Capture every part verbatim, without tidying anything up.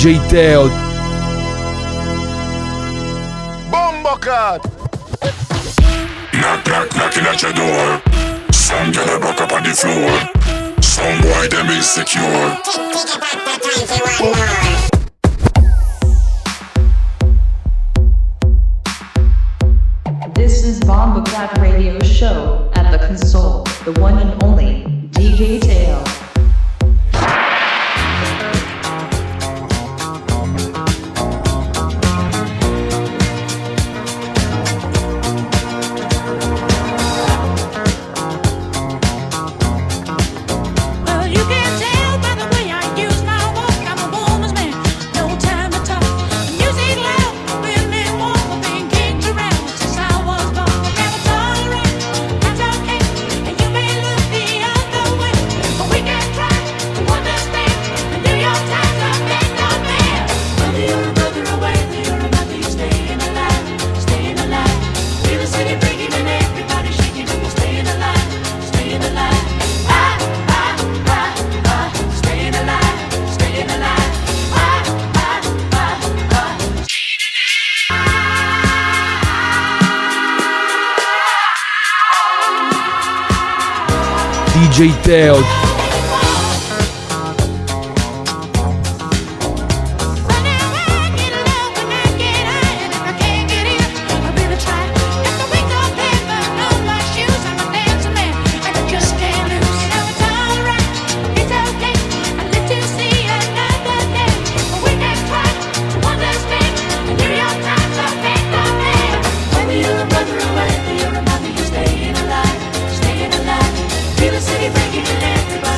D J Teo. Bombocat. Knock, knock, knocking at your door. Some girl a rock up on the floor. Some boy them insecure. This is Bombocat Radio Show. At the console, the one and only D J Teo. D J Teo. City breaking and everybody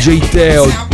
D J Teo.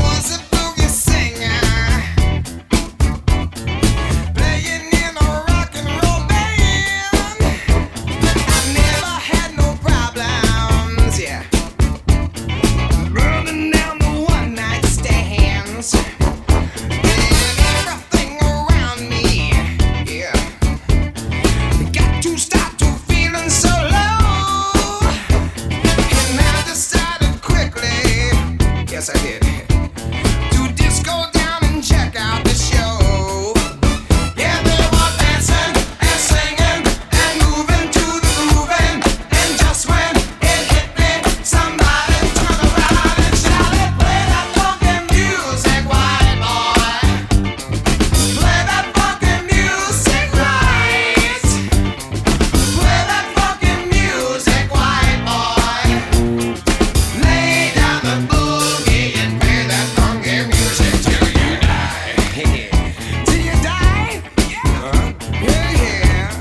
Yes, I did. To disco down and check out the show. Yeah, they were dancing and singing and moving to the grooving. And just when it hit me, somebody turned around and shouted, "Play that funky music, white boy. Play that funky music right. Play that funky music, white boy. Lay down the boogie and play that funky music till you die." Till you die? Yeah, yeah, yeah.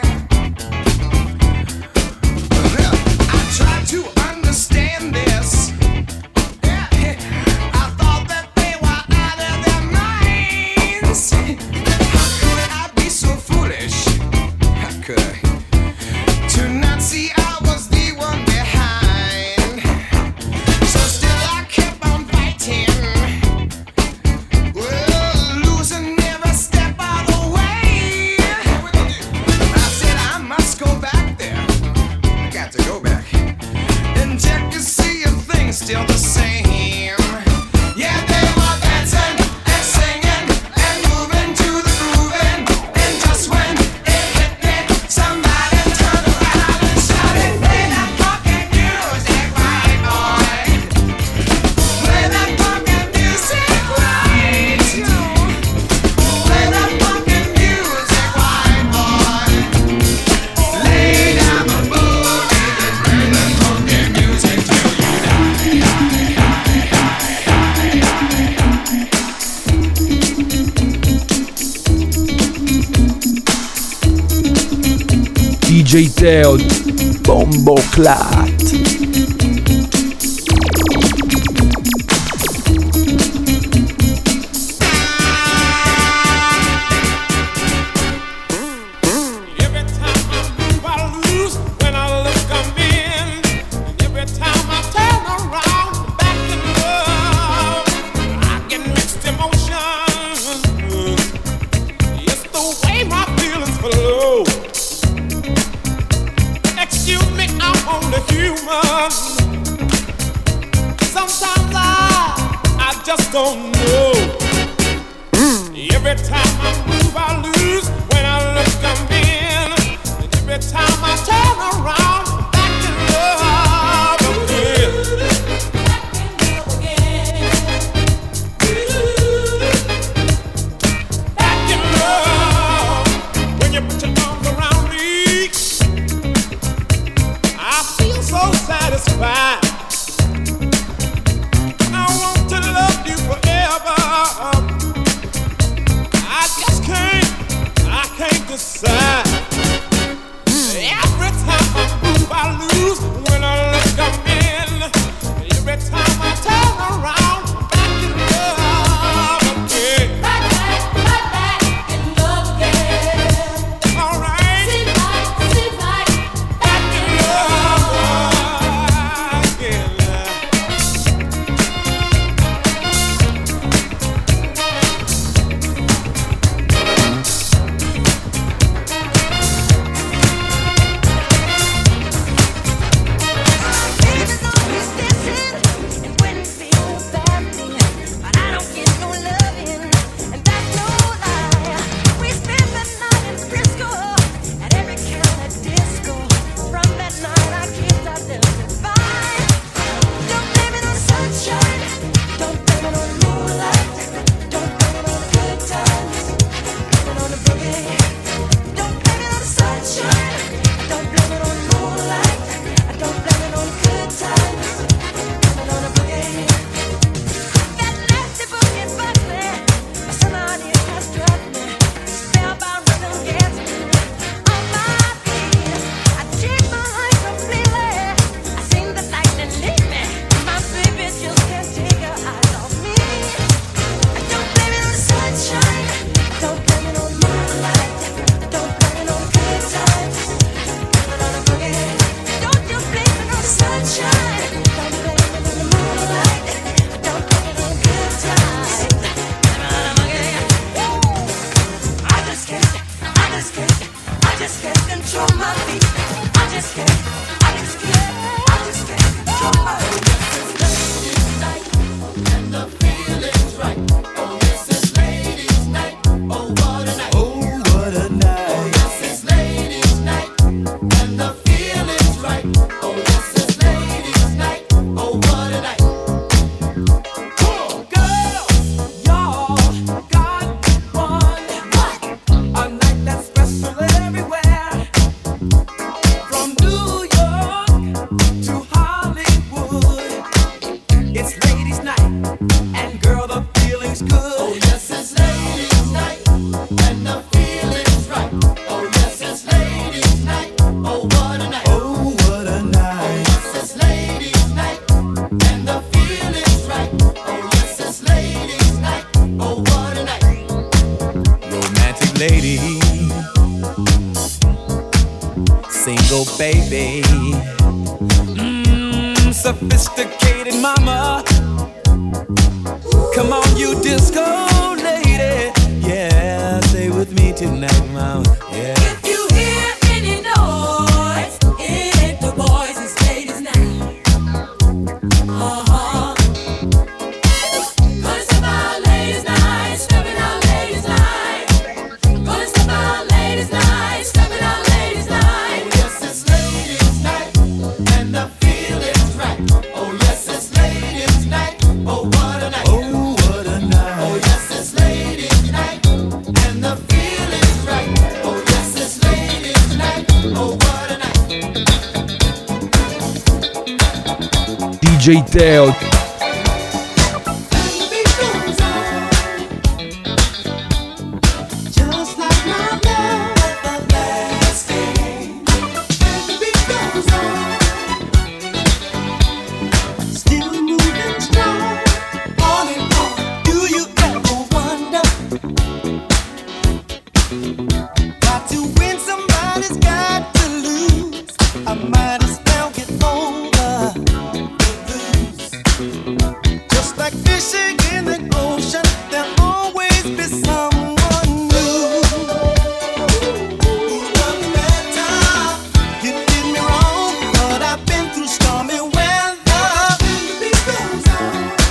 Well, I tried to understand this. Yeah, I thought that they were out of their minds. How could I be so foolish? How could I? To not see I was the one behind. So still I kept on fighting. Well, losing every step of the way. I said I must go back there. I got to go back and check to see if things still the same. Yeah, they were dancing and singing and moving to the grooving. And just when it hit me, somebody turned around and shouted, "Play that funky music, white boy. Play that funky music right. Play that funky music, white boy. Lay down the boogie and play that funky music till you die." D J Teo. Bombo Clat. Every time I move, I lose. When I look, I'm in. And every time I turn around, back in love, I get mixed emotions. It's the way my feelings flow. Excuse me, I'm only human. Sometimes I, I just don't know. Every time I move, I lose. When I look, I'm in. And every time I turn around, back in love again. Back in love. When you put your arms around me, I feel so satisfied. I want to love you forever. I just can't, I can't decide. Every time I move, I sophisticated mama. Come on, you disco lady. Yeah, stay with me tonight, mama. Yeah. If you hear any noise, it ain't the boys, it's ladies night. Uh-huh. Gonna step out ladies night, stepping out ladies night. Gonna step out ladies night, stepping out ladies night. Oh yes, it's ladies night, and the feeling's right. Oh yes, it's ladies night. Oh what a night. Oh what a night. Oh yes, it's ladies night, and the feeling's right. Oh yes, it's ladies night. Oh what a night. D J Teo. Just like my love everlasting. The beat goes on, still moving strong, on and on. Do you ever wonder? Got to win, somebody's got to lose. I might as well get over the blues. Just like fishing in the ocean, there'll always be someone new. One better, you did me wrong, but I've been through stormy weather. The beat goes on,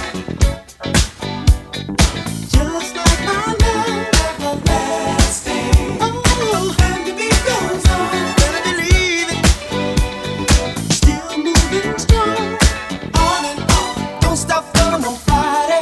just like my love everlasting. Oh, and the beat goes on, better believe it. Still moving strong, on and on. Don't stop for nobody.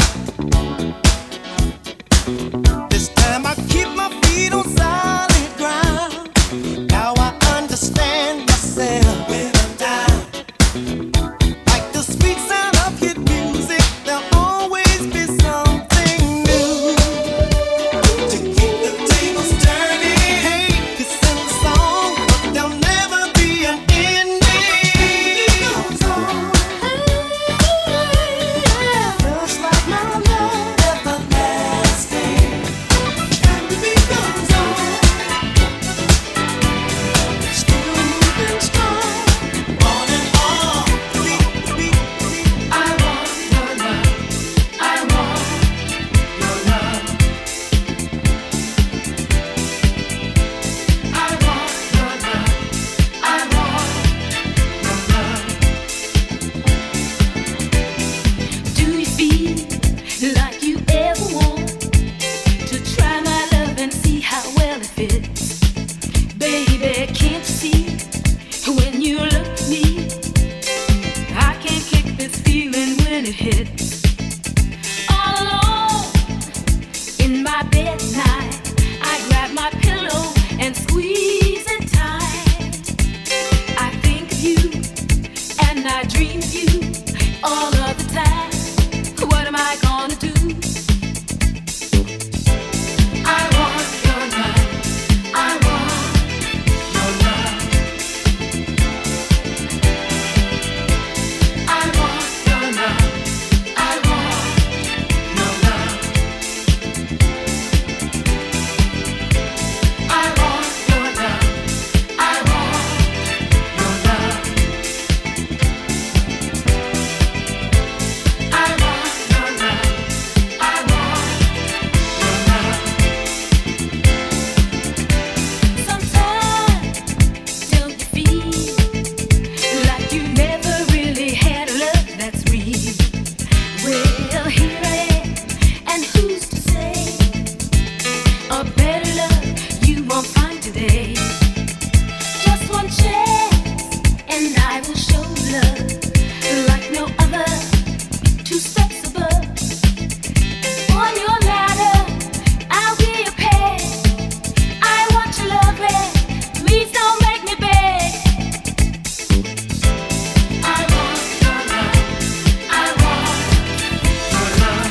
This time I keep my feet on solid ground. Now I understand myself when I'm down. Like the sweet sound of hit music, there'll always be something new to keep the tables turning. Hey, you sing the song, but there'll never be an ending. It goes on, just like my love everlasting. And the beat goes on, still moving strong, on and on. Beat, beat, beat. I want your love. I want your love. I want your love. I want your love. Do you feel like you ever want to try my love and see how well it fits? Baby, can't you see when you look at me? I can't kick this feeling when it hits. All alone in my bed at night, I grab my pillow and squeeze it tight. I think of you and I dream of you all of the time. What am I gonna do? I want your love. I want your love. I want your love. I want your love. I want your love. I want your love. I want your love. I want your love. Sometimes don't you feel like you never really had a love that's real? Well, here I am, and who's to say a better love you won't find today? Just one chance, and I will show love like no other. Two steps above. On your ladder, I'll be a pet. I want your love, please don't make me beg. I want your love. I want your love.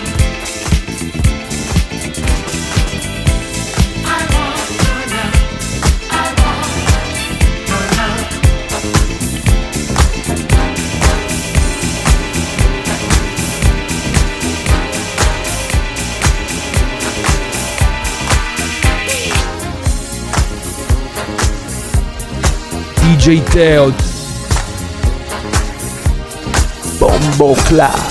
I want your love. I want your love. D J Teo. Bomb Bombo Clat.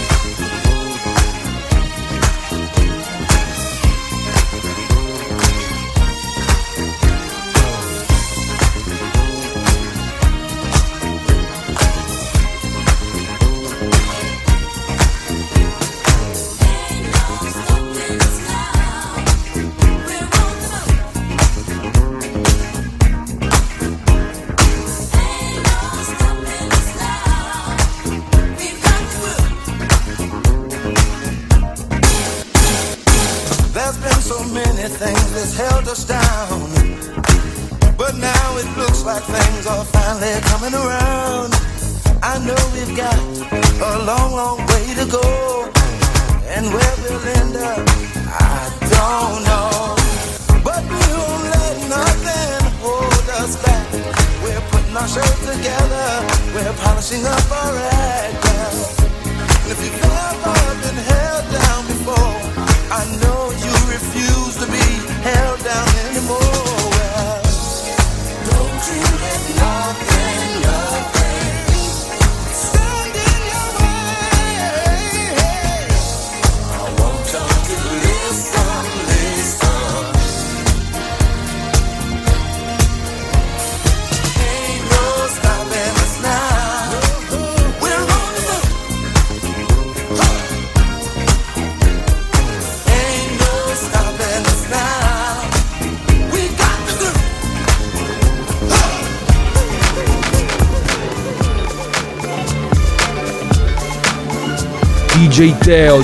Things that's held us down, but now it looks like things are finally coming around. I know we've got a long, long way to go, and where we'll end up, I don't know. But we won't let nothing hold us back. We're putting our show together, we're polishing up our act. And if you've ever been held down before, I know you refuse to be held down anymore. Well, don't you let nothing, nothing stand in your way. I want you to listen, listen. Ain't no stopping us now. We're on the move. Ain't no stopping us now. We got the groove. D J Teo.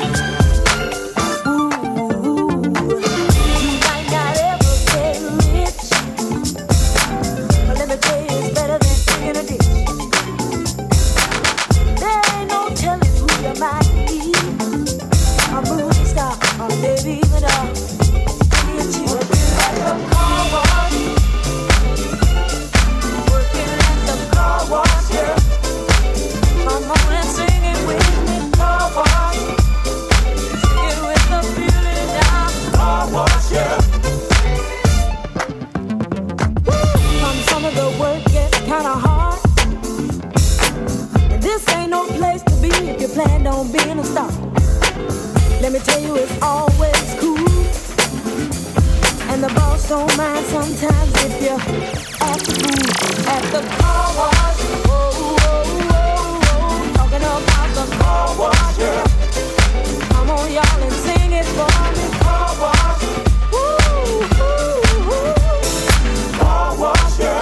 Let me tell you, it's always cool. And the boss don't mind sometimes if you act the fool at the car wash. Whoa, whoa, whoa, whoa. Talking about the car wash, yeah. Come on, y'all, and sing it for me. Car wash. Woo, woo, woo. Car wash, yeah.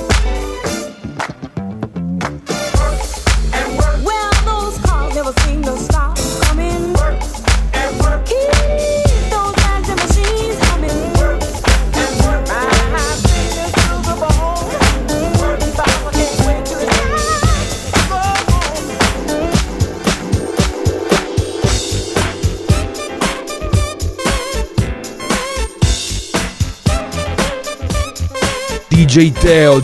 Work and work. Well, those cars never seem to stop coming. Work. Keep those bags and machines humming. Work and work. My fingers to the bone. Work and I can't wait to the D J Teo.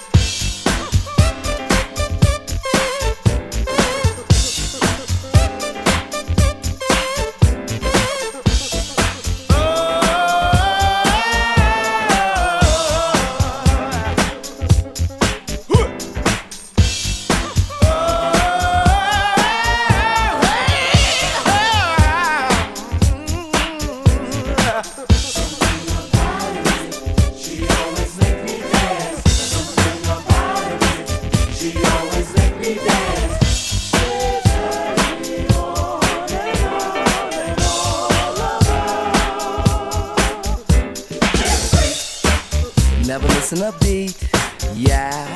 Never missing a beat, yeah.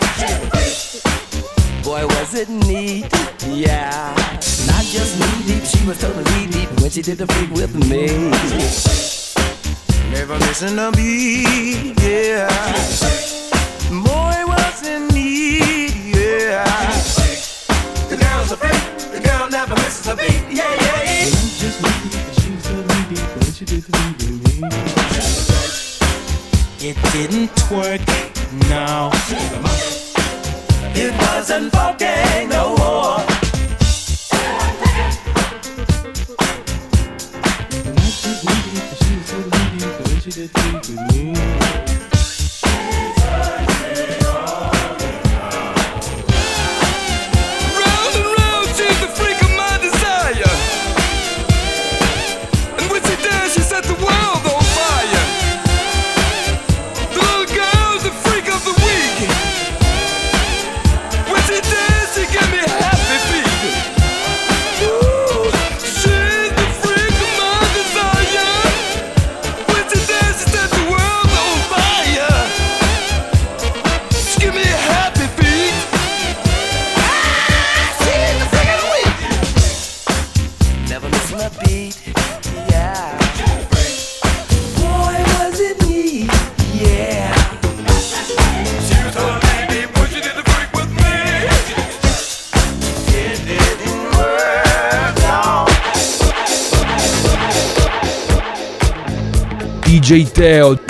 Boy, was it neat, yeah. Not just knee deep, she was totally deep when she did the freak with me. Never missing a beat, yeah. Boy, was it neat, yeah. The girl's a freak, the girl never misses a beat, yeah, yeah, yeah. Just knee deep, she was totally deep when she did the freak with me. It didn't twerk, no. It wasn't funky no more. Round and round she's the sweet, yeah. Boy, was it neat, yeah. She was a lady, but she did the freak with me. It didn't work out. D J Teo.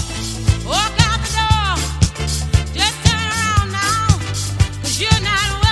You're not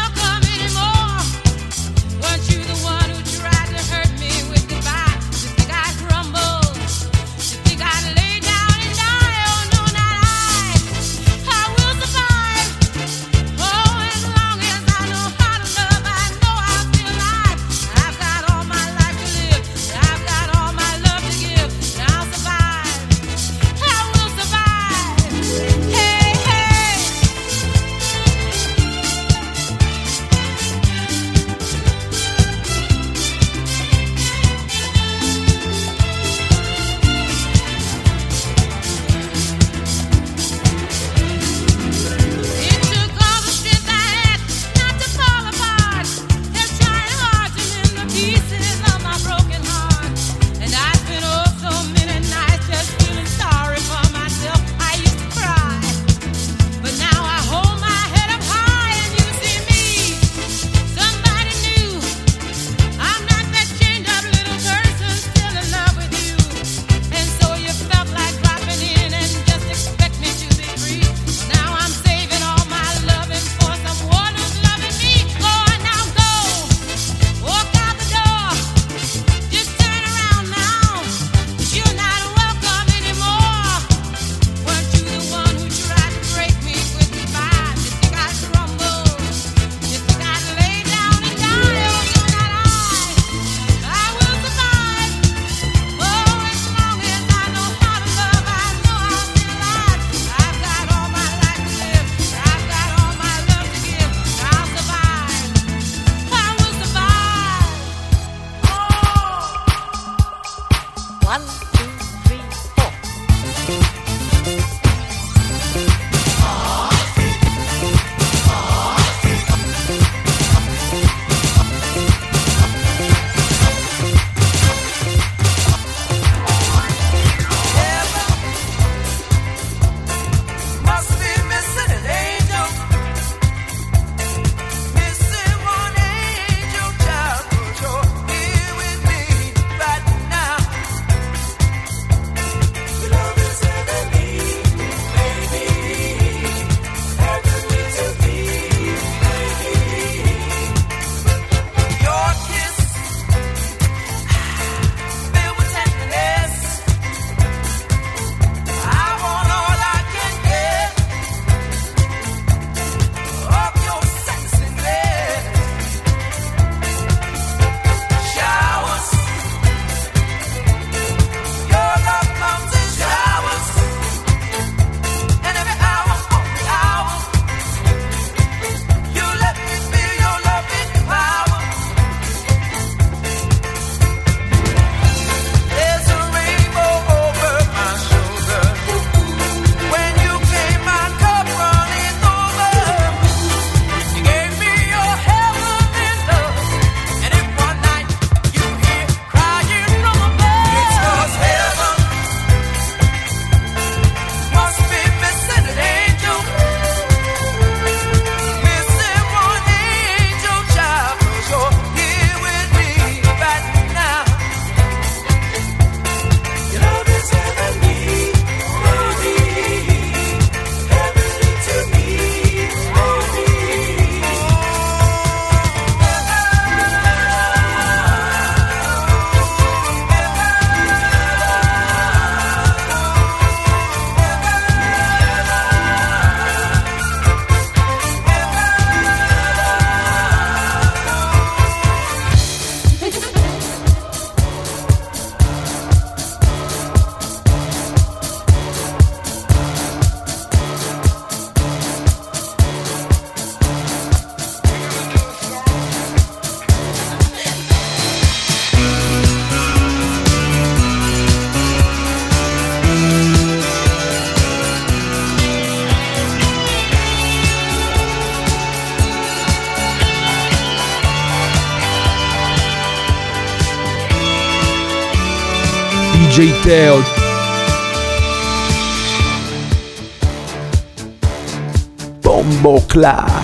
D J Teo. Bomboclat.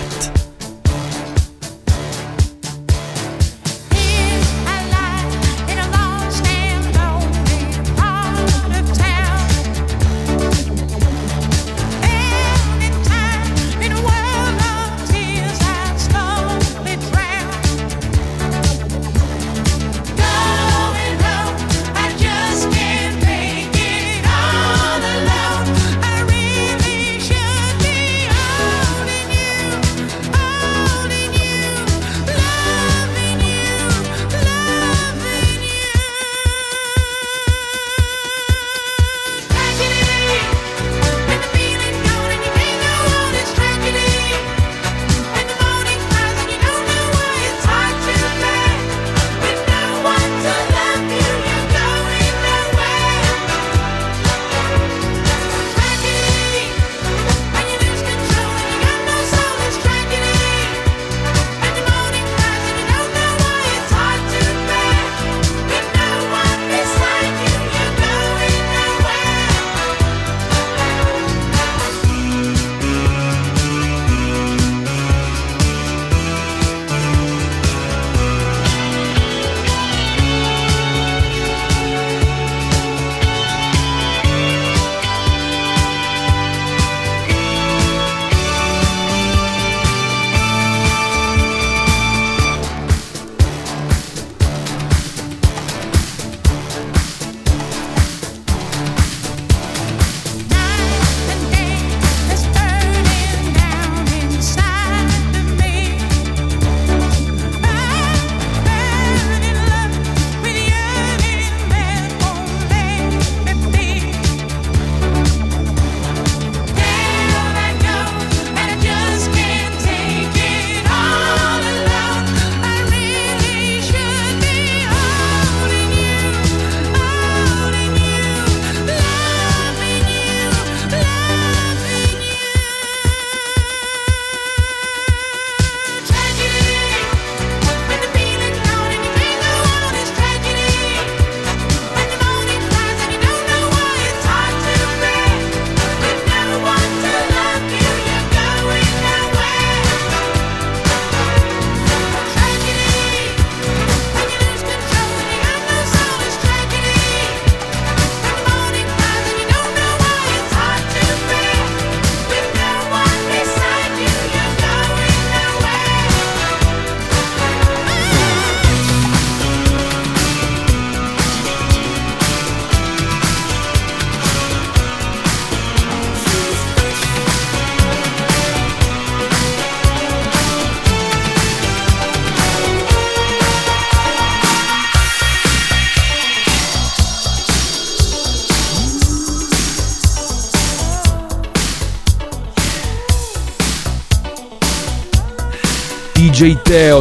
D J Teo.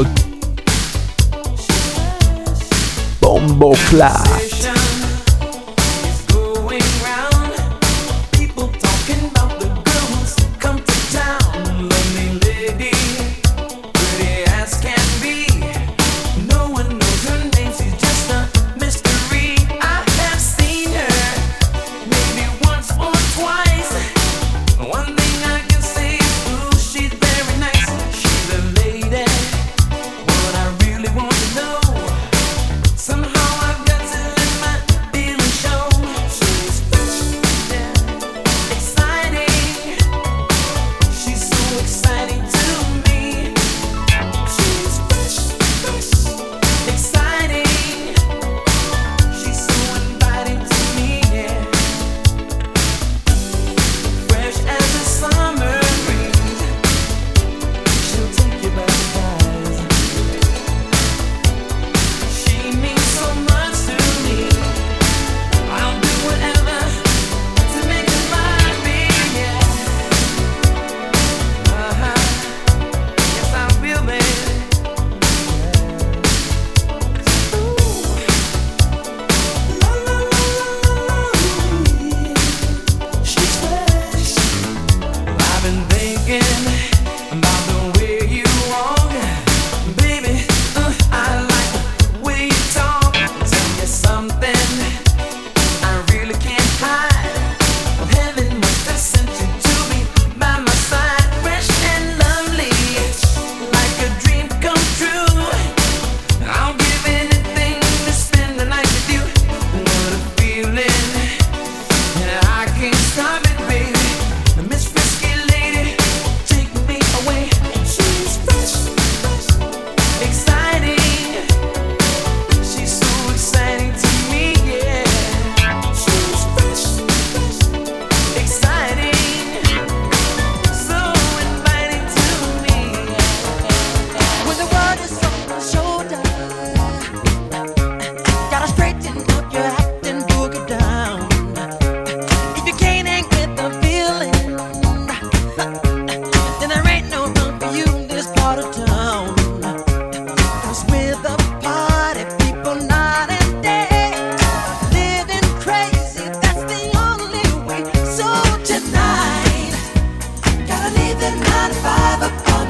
Bomboclat. Somehow I've got to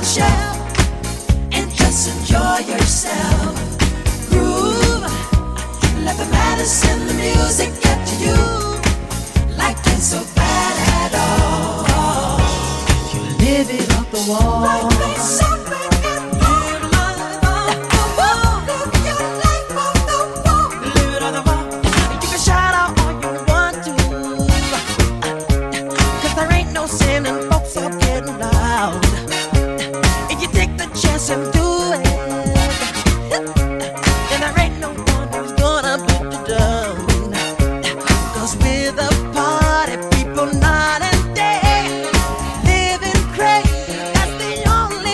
shell and just enjoy yourself. Groove, let the medicine, the music get to you. Like it's so bad at all. You live it off the wall. Like they something at live life off the wall. Live your life off the wall. Live it on the wall. You can shout out all you want to, 'cause there ain't no sin and folks are getting loud. If you take the chance and do it, then there ain't no one who's gonna put you down. 'Cause with a party, people night and day, living crazy, that's the only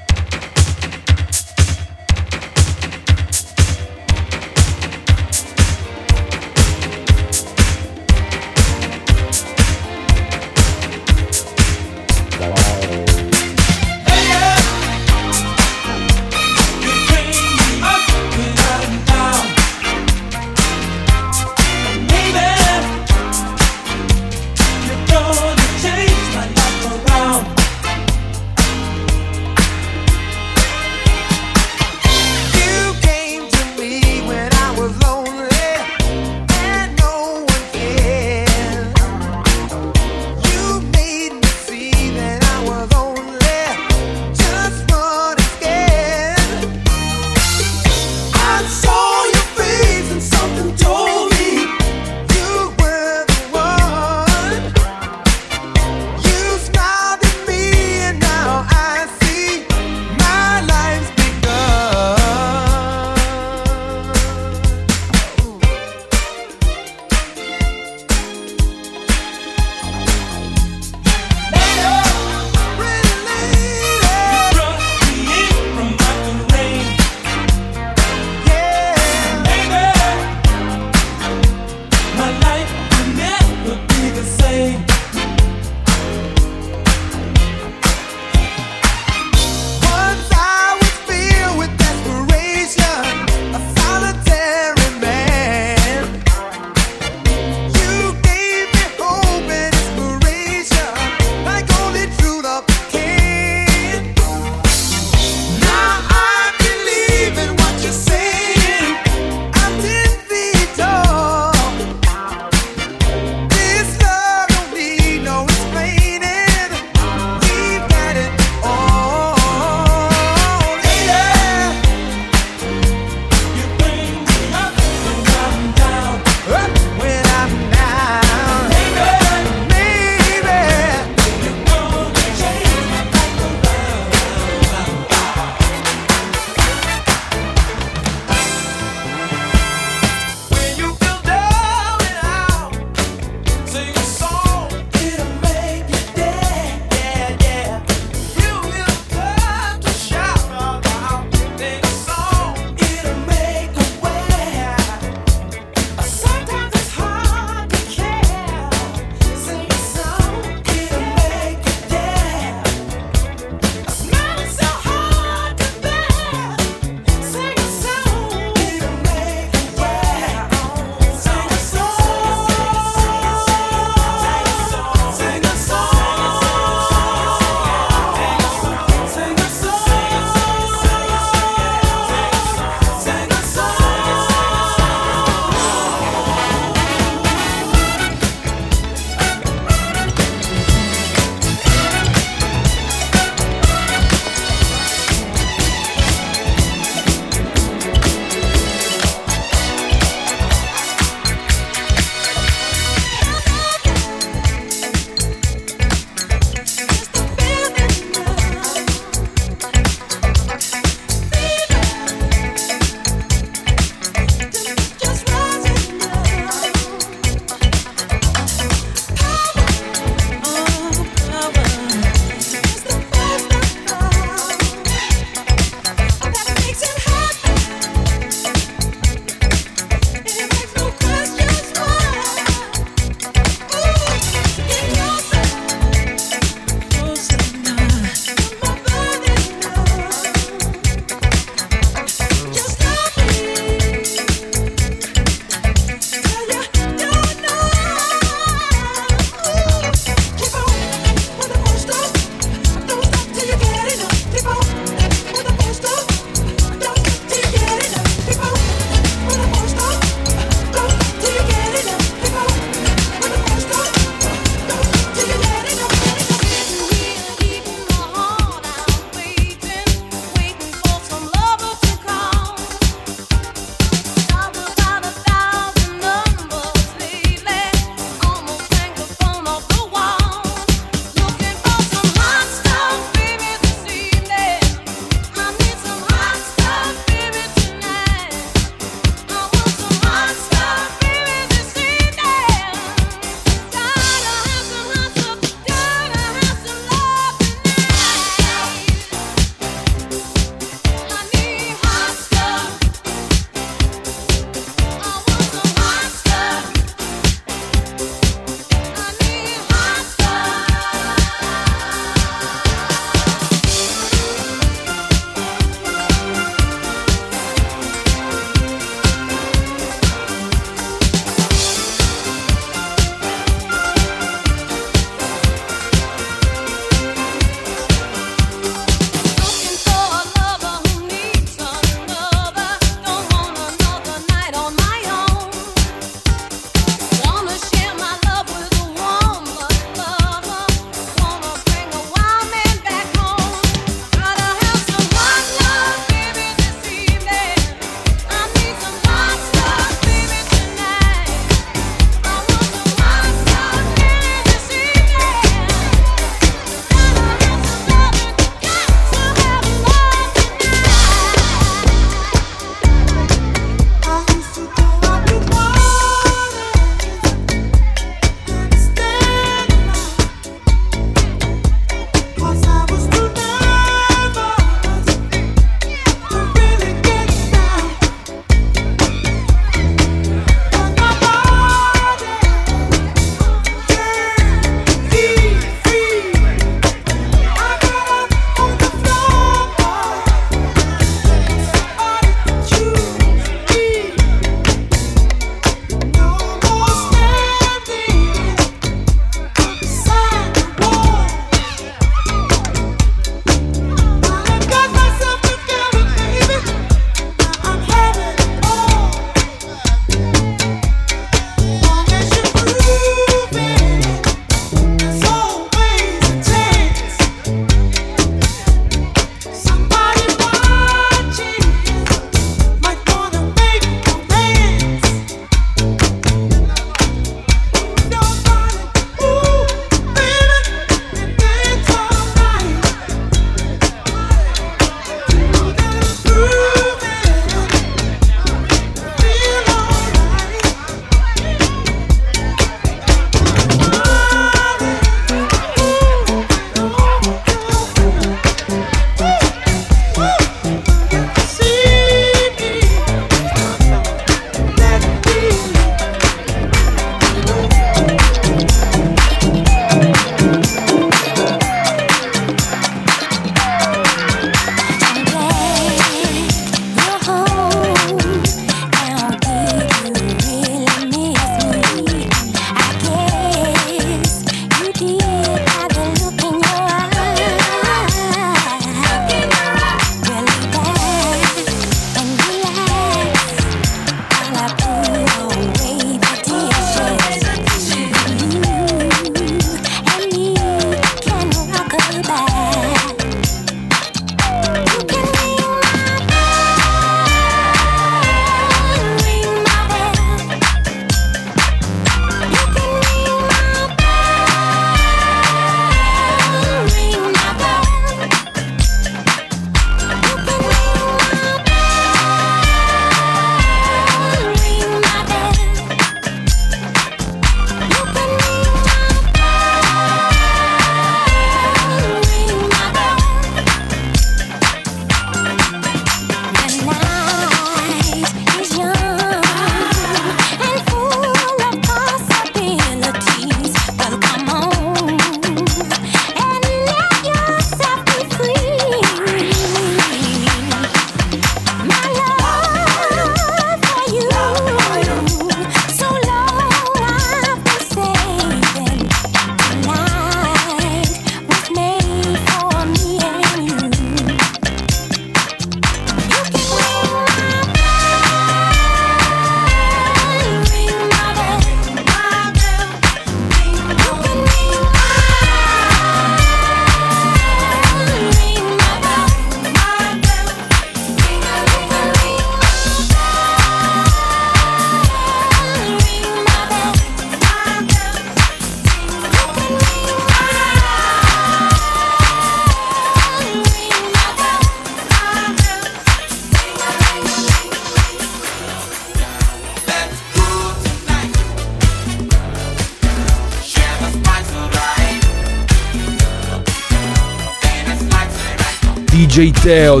D J Teo,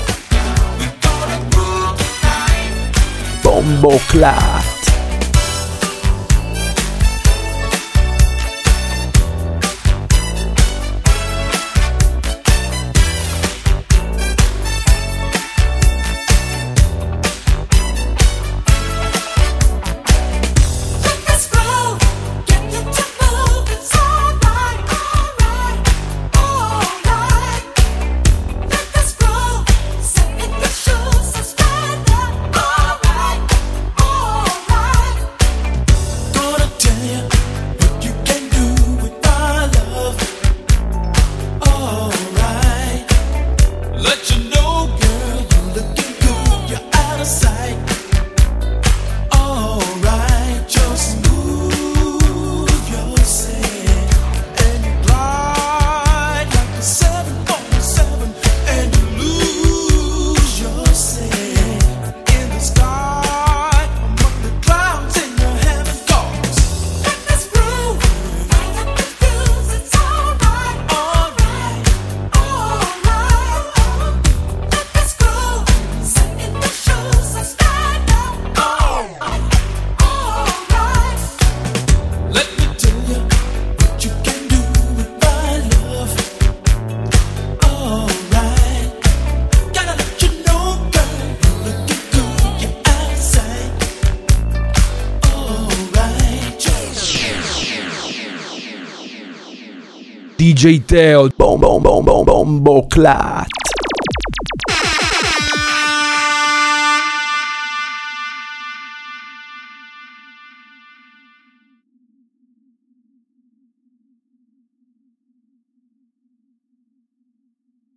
Bombo Clat. D J Teo, Bom Bom Bom Bom Bombo Clat.